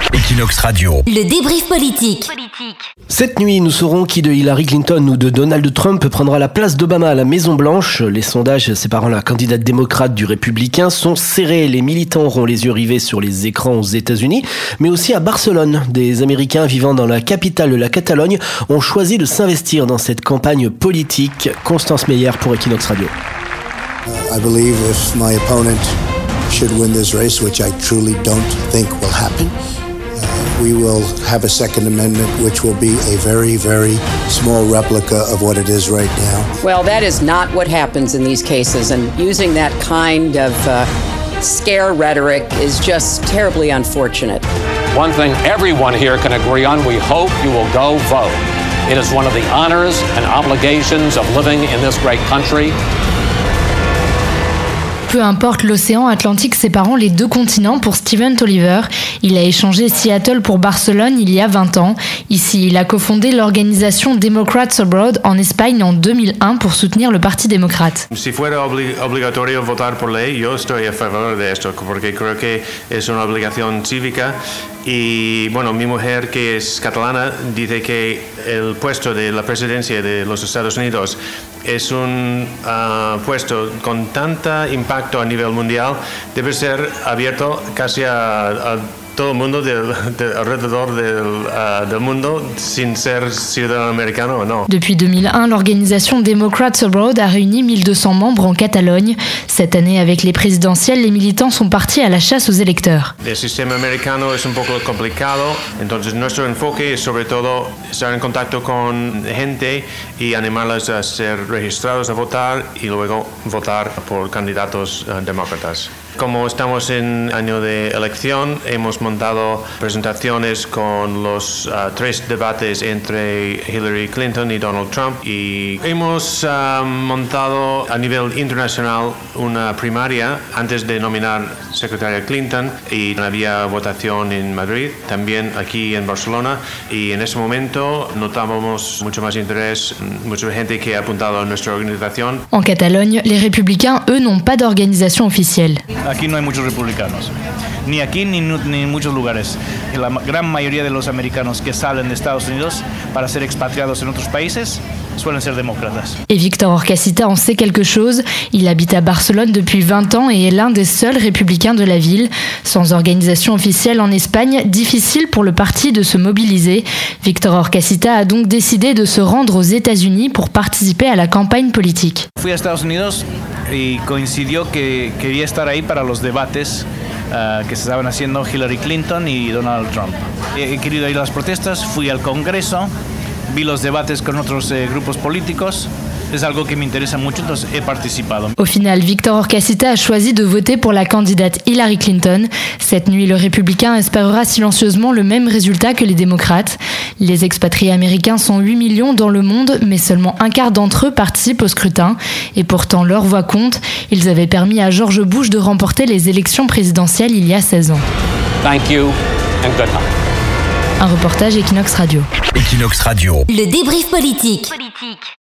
Equinox Radio. Le débrief politique. Cette nuit, nous saurons qui de Hillary Clinton ou de Donald Trump prendra la place d'Obama à la Maison-Blanche. Les sondages séparant la candidate démocrate du républicain sont serrés. Les militants auront les yeux rivés sur les écrans aux États-Unis, mais aussi à Barcelone. Des Américains vivant dans la capitale de la Catalogne ont choisi de s'investir dans cette campagne politique. Constance Meyer pour Equinox Radio. I believe if my opponent should win this race, which I truly don't think will happen, we will have a Second Amendment which will be a very, very small replica of what it is right now. Well, that is not what happens in these cases, and using that kind of scare rhetoric is just terribly unfortunate. One thing everyone here can agree on, we hope you will go vote. It is one of the honors and obligations of living in this great country. Peu importe l'océan Atlantique séparant les deux continents pour Stephen Tolliver. Il a échangé Seattle pour Barcelone il y a 20 ans. Ici, il a cofondé l'organisation Democrats Abroad en Espagne en 2001 pour soutenir le Parti démocrate. Si fuera obligatorio votar por ley, yo estoy a favor de esto, porque creo que es una obligación cívica. Y bueno, mi mujer, que es catalana, dice que el puesto de la presidencia de los Estados Unidos es un puesto con tanta impacto a nivel mundial, debe ser abierto casi a todo el mundo alrededor del mundo, sin ser ciudadano americano o no. Depuis 2001, l'organisation Democrats Abroad a réuni 1200 membres en Catalogne. Cette année, avec les présidentielles, les militants sont partis à la chasse aux électeurs. El sistema americano es un poco complicado, entonces nuestro enfoque es sobre todo estar en contacto con gente y animarles a ser registrados a votar y luego votar por candidatos demócratas. Como estamos en año de elección, hemos montado presentaciones con los 3 debates entre Hillary Clinton y Donald Trump y hemos montado a nivel internacional una primaria antes de nominar secretaria Clinton y había votación en Madrid, también aquí en Barcelona, y en ese momento notábamos mucho más interés, mucha gente que ha apuntado a nuestra organización. En Catalogne, les républicains, eux, n'ont pas d'organisation officielle. Aquí no hay muchos republicanos, ni aquí ni en muchos lugares. La gran mayoría de los americanos que salen de Estados Unidos para ser expatriados en otros países suelen ser démocratas. Et Victor Orcasita en sait quelque chose. Il habite à Barcelone depuis 20 ans et est l'un des seuls républicains de la ville. Sans organisation officielle en Espagne, difficile pour le parti de se mobiliser. Victor Orcasita a donc décidé de se rendre aux États-Unis pour participer à la campagne politique. Fui a Estados Unidos y coincidió que quería estar ahí para los debates que se estaban haciendo Hillary Clinton y Donald Trump. He querido ir a las protestas, fui al Congreso, vi los debates con otros grupos políticos. Es algo que me interesa mucho, entonces he participado. Au final, Victor Orcasita a choisi de voter pour la candidate Hillary Clinton. Cette nuit, le républicain espérera silencieusement le même résultat que les démocrates. Les expatriés américains sont 8 millions dans le monde, mais seulement un quart d'entre eux participent au scrutin. Et pourtant, leur voix compte. Ils avaient permis à George Bush de remporter les élections présidentielles il y a 16 ans. Thank you and good night. Un reportage Equinox Radio. Equinox Radio. Le débrief politique.